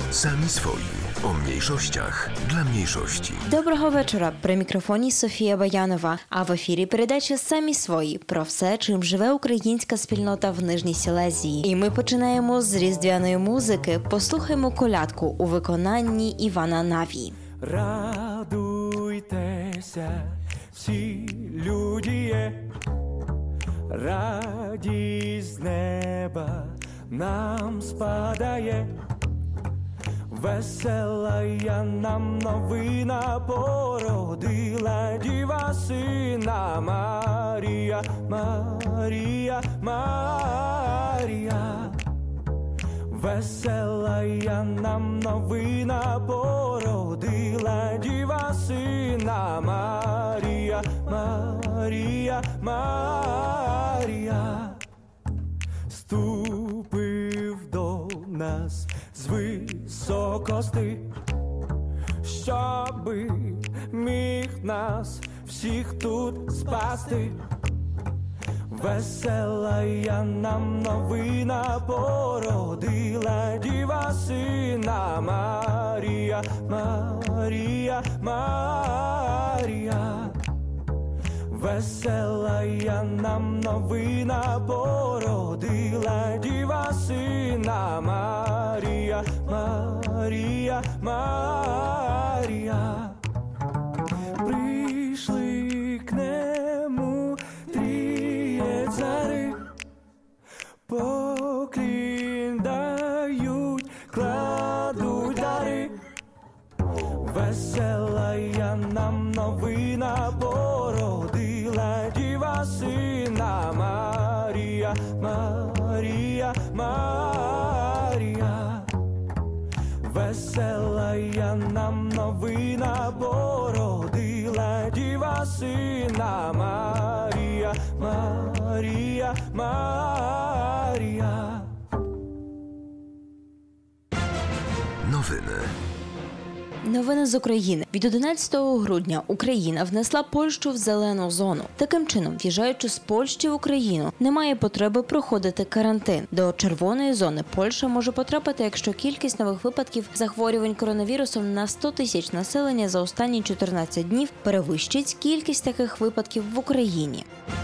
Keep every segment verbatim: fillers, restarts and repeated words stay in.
Самі свої. О mniejszościach dla mniejszości. Доброго вечора. При мікрофоні Софія Баянова. А в ефірі передача «Самі свої» про все, чим живе українська спільнота в Нижній Сілезії. І ми починаємо з різдвяної музики. Послухаймо колядку у виконанні Івана Наві. Радуйтеся, всі люди, радість з неба нам спадає. Весела я нам новина породила діва сина Марія, Марія, Марія. Весела я нам новина породила діва сина Марія, Марія, Марія. Ступив до нас з високости, щоби міг нас всіх тут спасти. Весела я нам новина породила діва сина Марія, Марія, Марія. Весела я нам новина породила діва сина Марія, Марія, Марія. Прийшли к нему тріє цари, поклін дають, кладуть дари. Весела я нам новина породила діва сина Марія, Марія, Марія. Весела я нам новина породила діва сина Марія, Марія, Марія. Nowiny. Новини з України. Від одинадцятого грудня Україна внесла Польщу в зелену зону. Таким чином, в'їжджаючи з Польщі в Україну, немає потреби проходити карантин. До червоної зони Польща може потрапити, якщо кількість нових випадків захворювань коронавірусом на сто тисяч населення за останні чотирнадцять днів перевищить кількість таких випадків в Україні.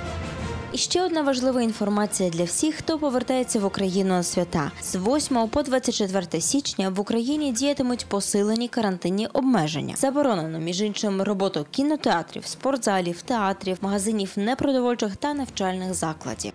І ще одна важлива інформація для всіх, хто повертається в Україну на свята. З восьмого по двадцять четверте січня в Україні діятимуть посилені карантинні обмеження. Заборонено, між іншим, роботу кінотеатрів, спортзалів, театрів, магазинів непродовольчих та навчальних закладів.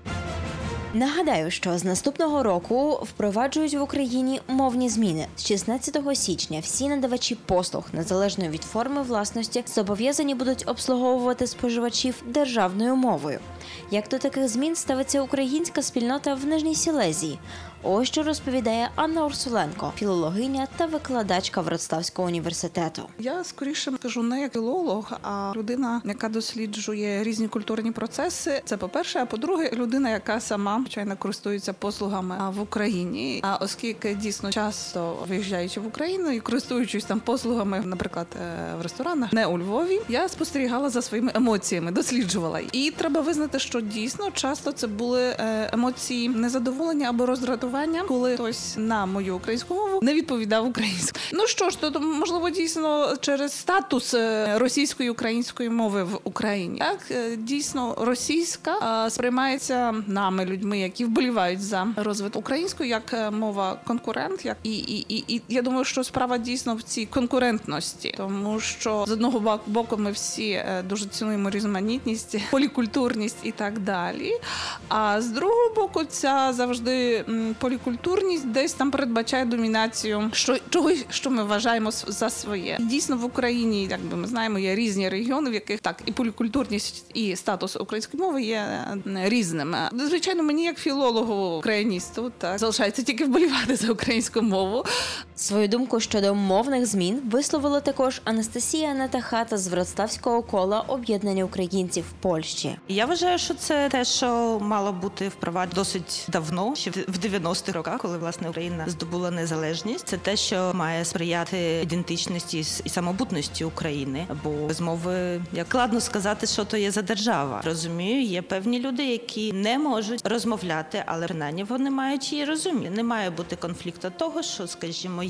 Нагадаю, що з наступного року впроваджують в Україні мовні зміни. З шістнадцятого січня всі надавачі послуг, незалежно від форми власності, зобов'язані будуть обслуговувати споживачів державною мовою. Як до таких змін ставиться українська спільнота в Нижній Сілезії? Ось що розповідає Анна Урсуленко, філологиня та викладачка Вроцлавського університету. Я скоріше кажу не як філолог, а людина, яка досліджує різні культурні процеси. Це по-перше, а по-друге, людина, яка сама, звичайно, користується послугами в Україні. А оскільки дійсно часто виїжджаючи в Україну і користуючись там послугами, наприклад, в ресторанах, не у Львові, я спостерігала за своїми емоціями, досліджувала. І треба визнати, що дійсно часто це були емоції незадоволення або роздратування, коли хтось на мою українську мову не відповідав українською. Ну що ж, то можливо дійсно через статус російської і української мови в Україні. Так, дійсно російська сприймається нами, людьми, які вболівають за розвиток української, як мова конкурент, як і, і, і, і я думаю, що справа дійсно в цій конкурентності, тому що з одного боку ми всі дуже цінуємо різноманітність, полікультурність і так далі, а з другого боку ця завжди полікультурність десь там передбачає домінацію що, чогось, що ми вважаємо за своє. І дійсно в Україні, як би ми знаємо, є різні регіони, в яких так і полікультурність, і статус української мови є різними. Звичайно, мені як філологу, україністу, так, залишається тільки вболівати за українську мову. Свою думку щодо мовних змін висловила також Анастасія Натахата з Вроцлавського кола об'єднання українців в Польщі. Я вважаю, що це те, що мало бути впроваджено досить давно, ще в дев'яностих роках, коли, власне, Україна здобула незалежність. Це те, що має сприяти ідентичності і самобутності України. Бо без мови, як складно сказати, що то є за держава. Розумію, є певні люди, які не можуть розмовляти, але принаймні вони мають її розуміти. Не має бути конфлікту того, що, скажімо,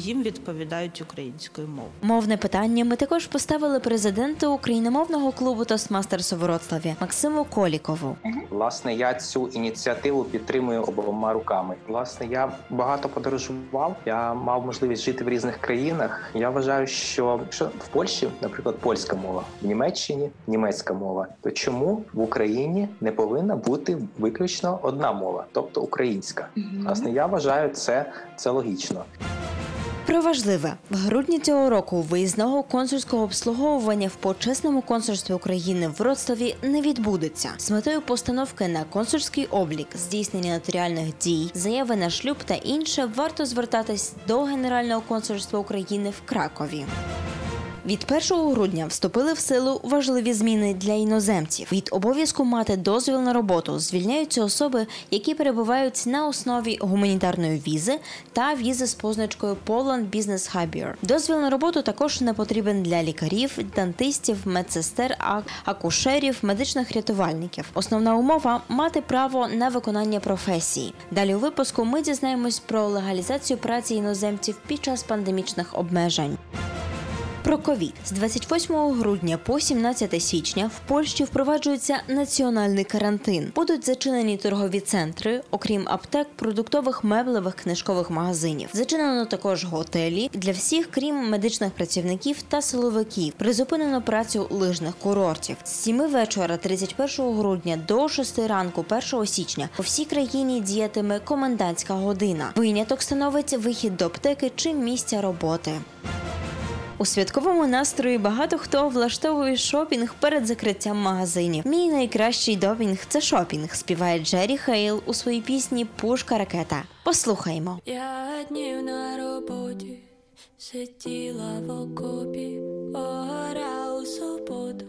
їм відповідають українською мовою. Мовне питання ми також поставили президенту україномовного клубу «Тостмастерс» у Вроцлаві Максиму Колікову. Власне, я цю ініціативу підтримую обома руками. Власне, я багато подорожував, я мав можливість жити в різних країнах. Я вважаю, що якщо в Польщі, наприклад, польська мова, в Німеччині німецька мова, то чому в Україні не повинна бути виключно одна мова, тобто українська? Mm-hmm. Власне, я вважаю, це, це логічно. Про важливе. В грудні цього року виїзного консульського обслуговування в почесному консульстві України в Вроцлаві не відбудеться. З метою постановки на консульський облік, здійснення нотаріальних дій, заяви на шлюб та інше варто звертатись до Генерального консульства України в Кракові. Від першого грудня вступили в силу важливі зміни для іноземців. Від обов'язку мати дозвіл на роботу звільняються особи, які перебувають на основі гуманітарної візи та візи з позначкою Poland Business Hire. Дозвіл на роботу також не потрібен для лікарів, дантистів, медсестер, акушерів, медичних рятувальників. Основна умова – мати право на виконання професії. Далі у випуску ми дізнаємось про легалізацію праці іноземців під час пандемічних обмежень. Про ковід. З двадцять восьмого грудня по сімнадцяте січня в Польщі впроваджується національний карантин. Будуть зачинені торгові центри, окрім аптек, продуктових, меблевих, книжкових магазинів. Зачинено також готелі для всіх, крім медичних працівників та силовиків. Призупинено працю лижних курортів. З сіми вечора тридцять першого грудня до шести ранку першого січня по всій країні діятиме комендантська година. Виняток становить вихід до аптеки чи місця роботи. У святковому настрої багато хто влаштовує шопінг перед закриттям магазинів. Мій найкращий допінг – це шопінг, співає Джері Хейл у своїй пісні «Пушка ракета». Послухаймо. Я днів на роботі, сиділа в окопі, пора у суботу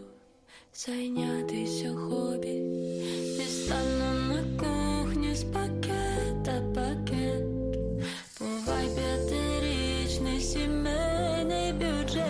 зайнятися хобі. Дістану на кухні з пакета пакет, бувай п'ятирічний сімейний бюджет.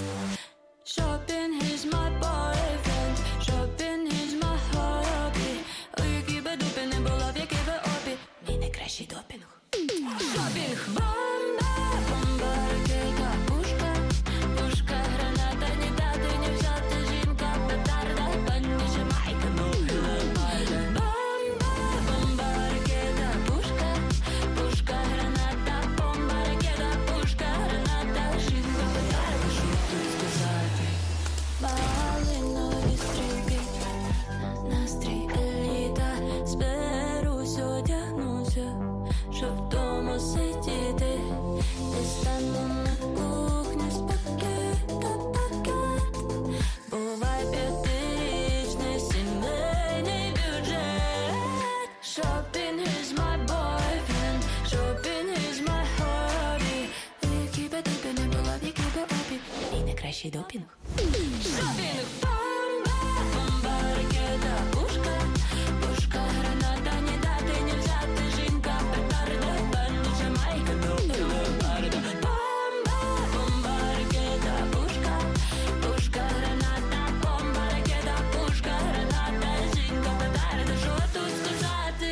Shopping is my boyfriend, shopping is my hobby. У якій би дупі не була, в якій би обі, мій найкращий допінг. Шопінг. Бомба, бомба, ракета, пушка, пушка, граната, ні дати, ні взяти, жінка, петарда, пані Жамайка, ну лемайда. Бомба, бомба, ракета, пушка, пушка, граната, бомба, ракета, пушка, граната, жінка, петарда, що тут сказати? Малинові стрілки, настрій еліта, зберусь, одягнуся, щоб вдома сидіти. Дістану на кухні з пакета пакет, бувай п'ятирічний сімейний бюджет. Shopping is my boyfriend, shopping is my hobby. У якій би дупі не була, в якій би обі, мій найкращий допінг. Шопінг. Бомба, бомба, ракета, пушка, пушка, граната, ні дати, ні взяти, жінка, петарда, пані Жамайка, ну лемайда. Бомба, бомба, ракета, пушка, пушка, граната, бомба, ракета, пушка, граната, жінка, петарда, що тут сказати?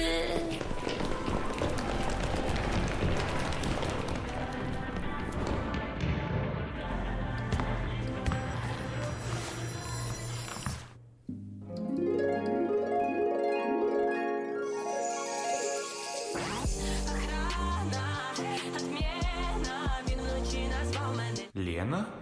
Лена?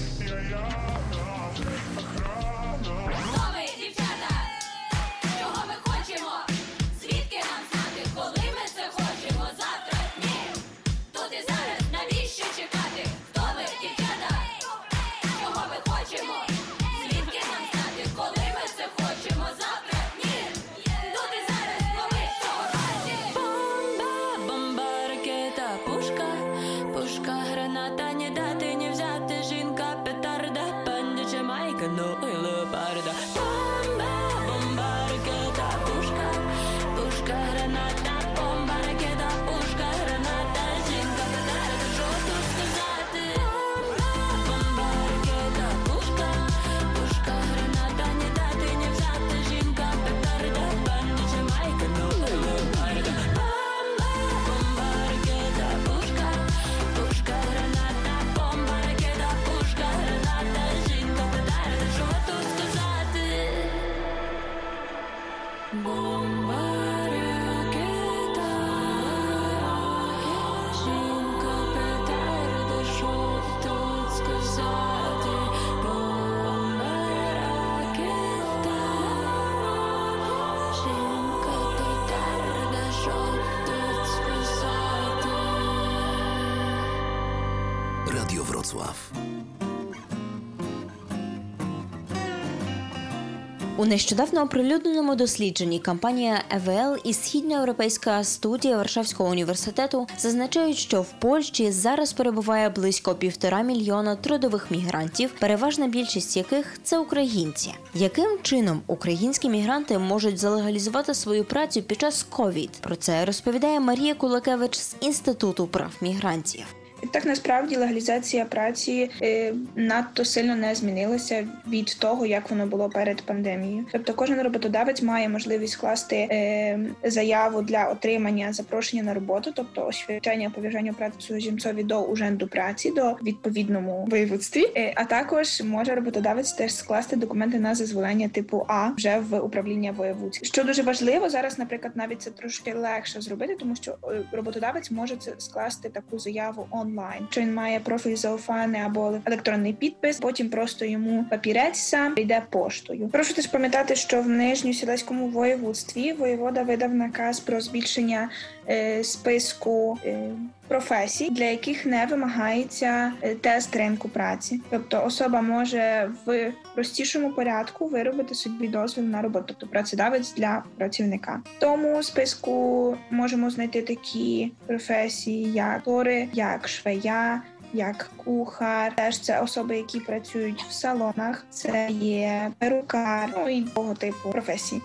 Хто ви, дівчата? Чого ми хочемо? Звідки нам знати, коли ми це хочемо? Завтра? Ні. Тут і зараз, навіщо чекати? Хто ви, дівчата? Чого ми хочемо? Звідки нам знати, коли ми це хочемо? Завтра? Ні. Тут і зараз, коли цього разі. Бомба, бомба, ракета, пушка, пушка, граната, ні дати, ні взяти, жінка, петарда, пані Жамайка, ну і леопарда. Бомба, бомба, ракета, пушка, пушка, граната, бомба, ракета, пушка, граната, жінка, петарда, що тут сказати? Бомба, бомба, ракета, пушка, пушка, граната, ні дати, ні взяти, жінка, петарда, пані Жамайка, ну і леопарда. Бомба, бомба, ракета, пушка, пушка, граната. Radio Wrocław. У нещодавно оприлюдненому дослідженні компанія і ве ел і Східноєвропейська студія Варшавського університету зазначають, що в Польщі зараз перебуває близько півтора мільйона трудових мігрантів, переважна більшість яких – це українці. Яким чином українські мігранти можуть залегалізувати свою працю під час ковід? Про це розповідає Марія Кулакевич з Інституту прав мігрантів. Так, насправді, легалізація праці е, надто сильно не змінилася від того, як воно було перед пандемією. Тобто кожен роботодавець має можливість скласти е, заяву для отримання запрошення на роботу, тобто освідчення пов'язання праці цудземцові до Уженду праці, до відповідному воєводстві, е, а також може роботодавець теж скласти документи на зазволення типу А вже в управління воєводське. Що дуже важливо, зараз, наприклад, навіть це трошки легше зробити, тому що роботодавець може це скласти таку заяву онлайн. Що він має профіль заофаний або електронний підпис, потім просто йому папірець сам йде поштою. Прошу теж пам'ятати, що в Нижньосілеському воєводстві воєвода видав наказ про збільшення е, списку е, професій, для яких не вимагається е, тест ринку праці. Тобто особа може в простішому порядку виробити собі дозвіл на роботу, тобто працедавець для працівника. В тому списку можемо знайти такі професії, як актори, як швея, як кухар. Теж це особи, які працюють в салонах, це є перукар, ну і того типу професій.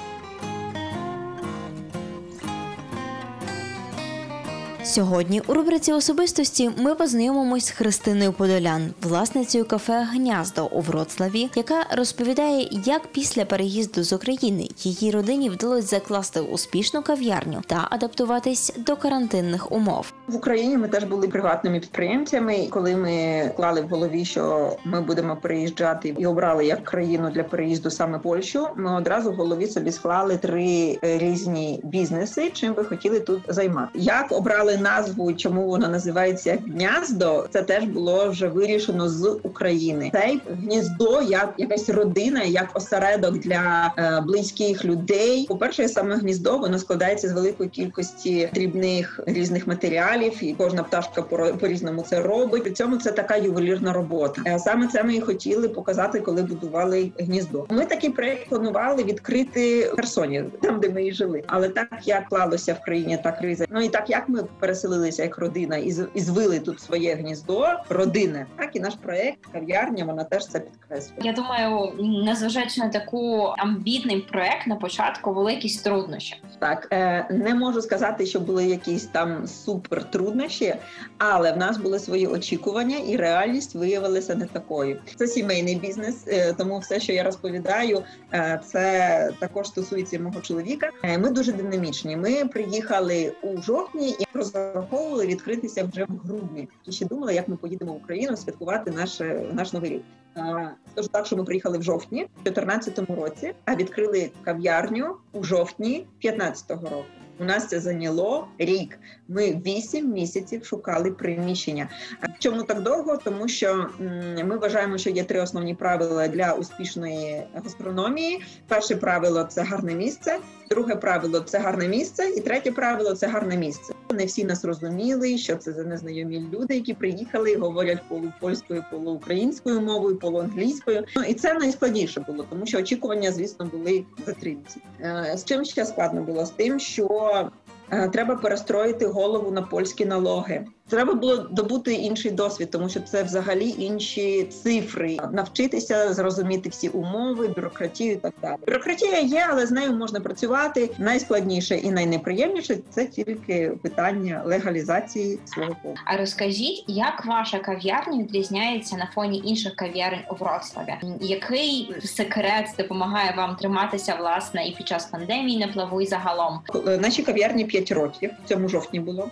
Сьогодні у рубриці «Особистості» ми познайомимось з Христиною Подолян, власницею кафе «Гнyaздо» у Вроцлаві, яка розповідає, як після переїзду з України її родині вдалося закласти успішну кав'ярню та адаптуватись до карантинних умов. В Україні ми теж були приватними підприємцями. Коли ми клали в голові, що ми будемо переїжджати і обрали як країну для переїзду саме Польщу, ми одразу в голові собі склали три різні бізнеси, чим ви хотіли тут займати. Як обрали назву, чому воно називається «Гнyaздо», це теж було вже вирішено з України. Це гніздо як якась родина, як осередок для е, близьких людей. По-перше, саме гніздо, воно складається з великої кількості дрібних різних матеріалів, і кожна пташка по- по-різному це робить. При цьому це така ювелірна робота. Е, саме це ми і хотіли показати, коли будували гніздо. Ми такий проєкт планували відкрити в Херсоні, там, де ми і жили. Але так, як клалося в країні та криза, ну і так, як ми переселилися як родина і, і звили тут своє гніздо родинне, так і наш проєкт «Кав'ярня», вона теж це підкреслює. Я думаю, незважаючи на таку амбітний проєкт, на початку були якісь труднощі. Так, е, не можу сказати, що були якісь там супер труднощі, але в нас були свої очікування і реальність виявилася не такою. Це сімейний бізнес, е, тому все, що я розповідаю, е, це також стосується мого чоловіка. Е, ми дуже динамічні. Ми приїхали у жовтні і розраховували відкритися вже в грудні. І ще думали, як ми поїдемо в Україну святкувати наш, наш Новий рік. Тож так, що ми приїхали в жовтні в чотирнадцятому році, а відкрили кав'ярню у жовтні п'ятнадцятого року. У нас це зайняло рік. Ми вісім місяців шукали приміщення. Чому так довго? Тому що ми вважаємо, що є три основні правила для успішної гастрономії. Перше правило – це гарне місце. Друге правило – це гарне місце. І третє правило – це гарне місце. Не всі нас розуміли, що це за незнайомі люди, які приїхали і говорять полупольською, полуукраїнською мовою, полуанглійською. Ну, і це найскладніше було, тому що очікування, звісно, були затримці. З чим ще складно було? З тим, що треба перестроїти голову на польські налоги. Треба було добути інший досвід, тому що це взагалі інші цифри. Навчитися зрозуміти всі умови, бюрократію і так далі. Бюрократія є, але з нею можна працювати. Найскладніше і найнеприємніше – це тільки питання легалізації свого побуту. А розкажіть, як ваша кав'ярня відрізняється на фоні інших кав'ярень у Вроцлаві? Який секрет допомагає вам триматися, власне, і під час пандемії на плаву, і загалом? Наші кав'ярні п'ять років, в цьому жовтні було.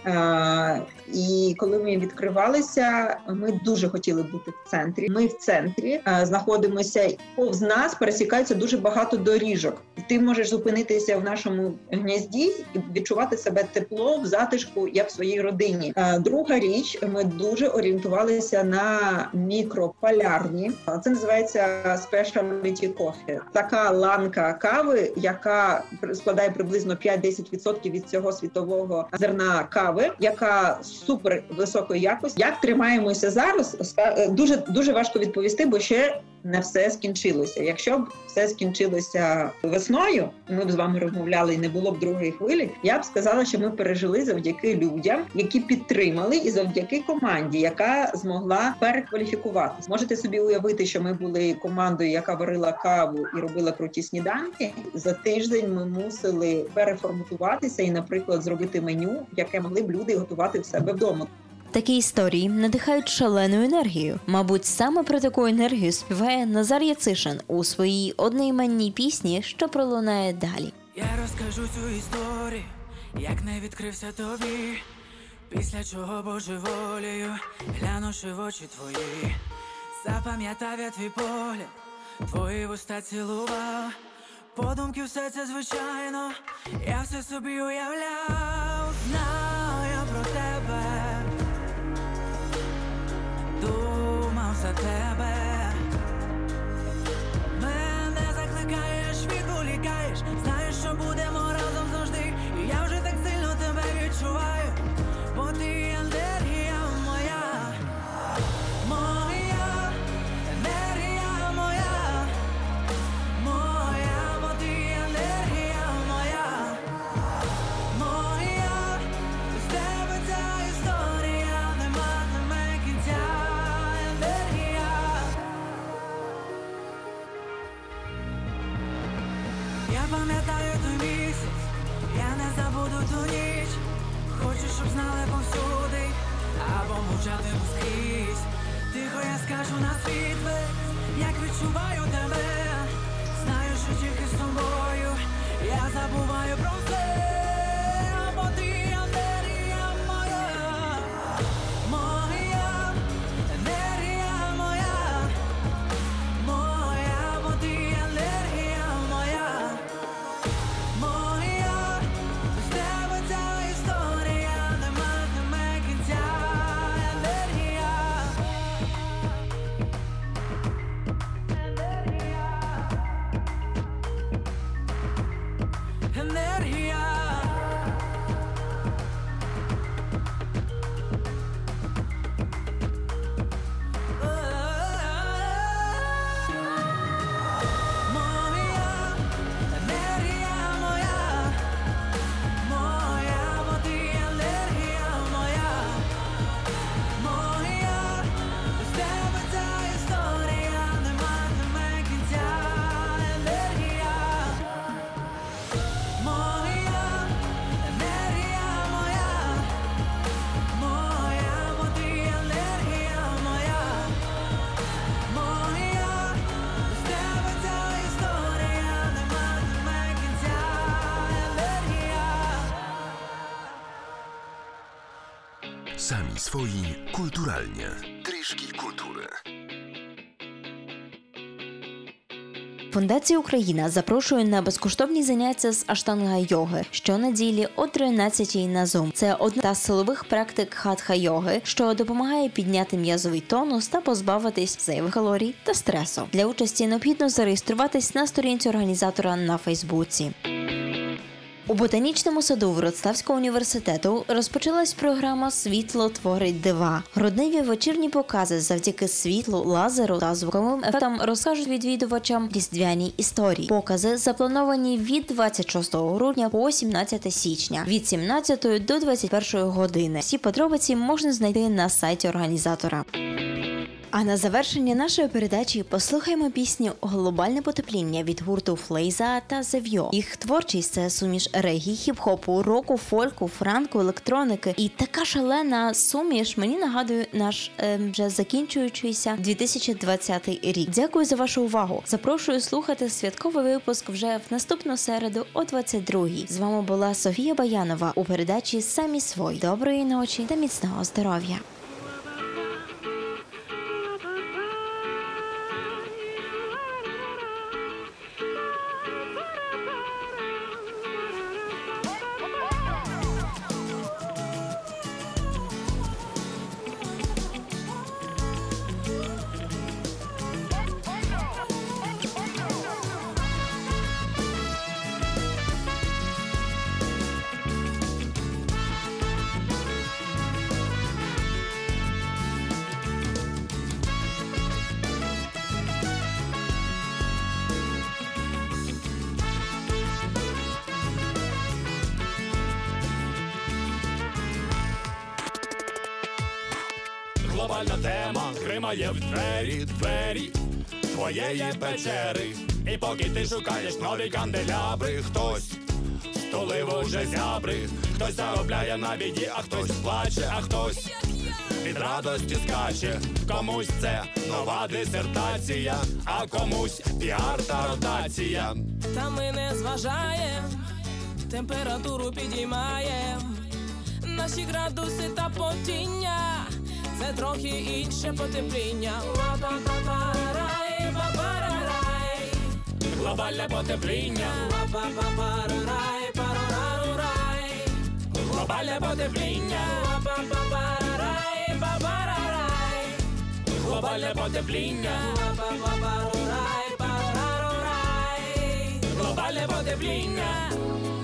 І коли ми відкривалися, ми дуже хотіли бути в центрі. Ми в центрі знаходимося, повз нас пересікається дуже багато доріжок. І ти можеш зупинитися в нашому гнізді і відчувати себе тепло, в затишку, як в своїй родині. Друга річ, ми дуже орієнтувалися на мікрополярні. Це називається specialty coffee. Така ланка кави, яка складає приблизно п'ять-десять відсотків від цього світового зерна кави, яка супер високої якості. Як тримаємося зараз, дуже, дуже важко відповісти, бо ще не все скінчилося. Якщо б все скінчилося весною, ми б з вами розмовляли і не було б другої хвилі, я б сказала, що ми пережили завдяки людям, які підтримали, і завдяки команді, яка змогла перекваліфікуватися. Можете собі уявити, що ми були командою, яка варила каву і робила круті сніданки. За тиждень ми мусили переформатуватися і, наприклад, зробити меню, яке могли б люди готувати в себе вдома. Такі історії надихають шаленою енергією. Мабуть, саме про таку енергію співає Назар Яцишин у своїй одноіменній пісні, що пролунає далі. Я розкажу цю історію, як не відкрився тобі, після чого божеволію, глянувши в очі твої, запам'ятав я твій погляд, твої вуста цілував, подумки все це звичайно, я все собі уявляв, знав я про тебе, думав за тебе. Мене закликаєш, відволікаєш, знаєш, що будемо разом завжди. І я вже так сильно тебе відчуваю, бо ти енергія моя, моя енергія моя, моя, бо ти енергія моя, моя, без тебе ця історія не матиме кінця, енергія. Я пам'ятаю той місяць, я не забуду ту ніч. Хочу, щоб знали повсюди, або мовчати скрізь. Тихо я скажу на світ весь, як відчуваю тебе. Знаю, що тільки з тобою я забуваю про все, бо ти енергія моя, моя енергія моя, моя, бо ти енергія моя, моя, без тебе ця історія не матиме кінця, енергія, енергія, енергія. Моя енергія моя, моя, бо ти енергія моя, моя, без тебе ця історія не матиме кінця, енергія, моя енергія моя, моя, бо ти енергія моя, моя, без тебе ця історія не матиме кінця, енергія. Sami swoi kulturalnie. Tryszki kultury. Фундація Україна запрошує на безкоштовні заняття з аштанга-йоги щонеділі о тринадцятій на Zoom. Це одна з силових практик хатха-йоги, що допомагає підняти м'язовий тонус та позбавитись зайвих калорій та стресу. Для участі необхідно зареєструватись на сторінці організатора на Фейсбуці. У ботанічному саду Вроцлавського університету розпочалась програма «Світло творить дива». Грудневі вечірні покази завдяки світлу, лазеру та звуковим ефектам розкажуть відвідувачам різдвяні історії. Покази заплановані від двадцять шостого грудня по сімнадцяте січня, від сімнадцятої до двадцять першої години. Всі подробиці можна знайти на сайті організатора. А на завершення нашої передачі послухаємо пісню «Глобальне потепління» від гурту Флейза та Зев'йо. Їх творчість – це суміш регі, хіп-хопу, року, фольку, франку, електроники. І така шалена суміш мені нагадує наш е, вже закінчуючийся дві тисячі двадцятий рік. Дякую за вашу увагу. Запрошую слухати святковий випуск вже в наступну середу о двадцять другій. З вами була Софія Баянова у передачі «Самі свої». Доброї ночі та міцного здоров'я. Актуальна тема гримає в двері, двері твоєї печери. І поки ти шукаєш нові канделябри, хтось стулив уже зябри, хтось заробляє на біді, а хтось плаче, а хтось від радості скаче. Комусь це нова дисертація, а комусь піар та ротація. Та ми не зважаєм, температуру підіймаєм. Наші градуси та потіння — це трохи інше потепління. Ла-па-па-па-рай, па-па-рай. Глобальне потепління. Ла-па-па-па-рай, па-ра-ра-рай. Глобальне потепління. Ла-па-па-па-рай, па-па-рай. Глобальне потепління. Ла-па-па-па-рай, па-ра-рай. Глобальне потепління.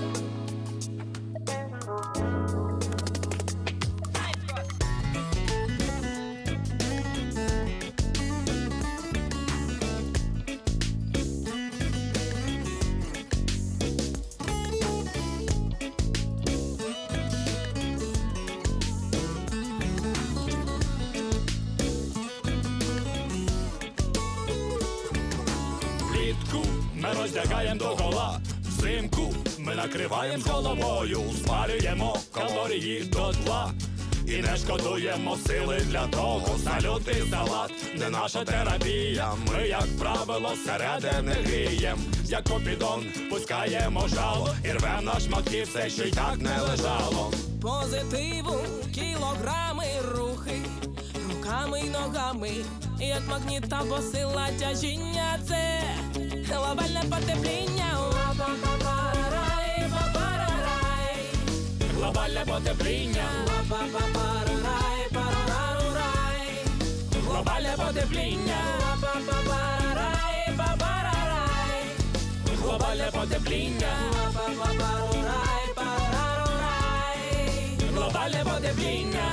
Ми роздягаєм догола, взимку ми накриваєм з головою, спалюємо калорії до тла і не шкодуємо сили для того. Салют і салат не наша терапія. Ми, як правило, зсередини грієм, як купідон пускаємо жало і рвем на шматки все, що й так не лежало. Позитиву, кілограми, рухи руками й ногами, як магніт або сила тяжіння. Це глобальне потепління. Ла-па-па-па-рай, па-па-рай. Глобальне потепління. Ла-па-па-па-рай, па-ра-ра-рай. Глобальне потепління. Ла-па-па-па-рай, па-па-рай. Глобальне потепління. Ла-па-па-па-рай, па-ра-рай. Глобальне потепління.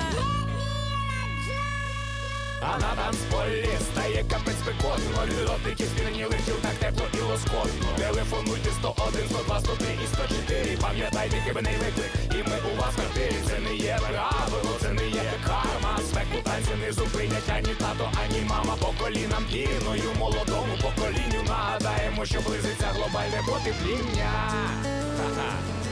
А на танцполі стає капець спекотно. Льотики спірнілих тіл, так тепло і лоскотно. Телефонуйте сто один, сто два, сто три і сто чотири. Пам'ятайте хибний виклик, і ми у вас в квартирі. Це не є правило, це не є карма. Спеку танці не зупинять ані тато, ані мама. По колінам піною молодому поколінню нагадаємо, що близиться глобальне потепління. Ха-ха.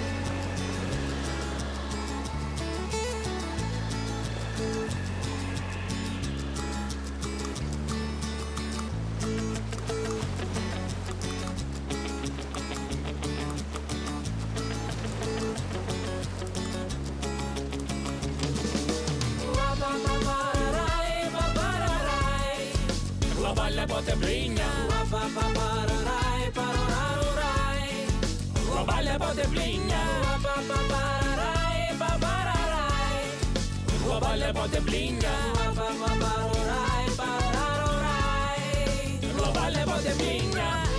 Глобальне потепління. Ла-па-па-па-рай, па-ра-ра-рай. Глобальне потепління. Ла-па-па-па-рай, па-ра-рай. Глобальне потепління. Ла-па-па-па-рай, па-ра-рай. Глобальне потепління.